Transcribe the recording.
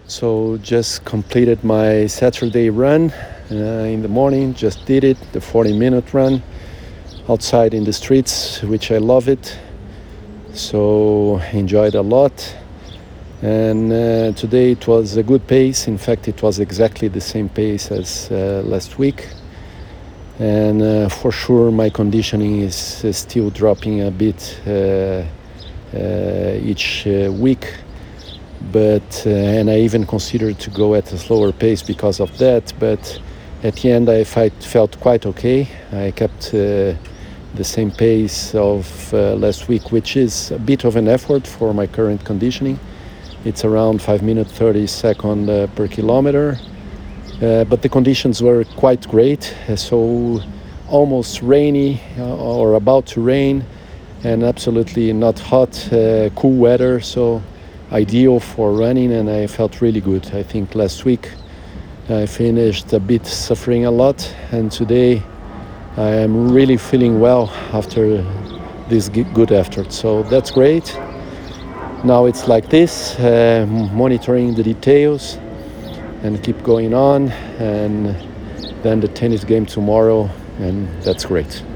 So just completed my Saturday run in the morning. Just did it, the 40-minute run outside in the streets, which I love it. So enjoyed a lot. And today it was a good pace. In fact, it was exactly the same pace as last week. And for sure, my conditioning is still dropping a bit each week. But and I even considered to go at a slower pace because of that. But at the end, I felt quite okay. I kept the same pace of last week, which is a bit of an effort for my current conditioning. It's around 5 minutes 30 seconds per kilometer. But the conditions were quite great. So almost rainy or about to rain, and absolutely not hot, cool weather. So ideal for running, and I felt really good. I think last week I finished a bit suffering a lot, and today I am really feeling well after this good effort. So that's great. Now it's like this, monitoring the details and keep going on, and then the tennis game tomorrow, and that's great.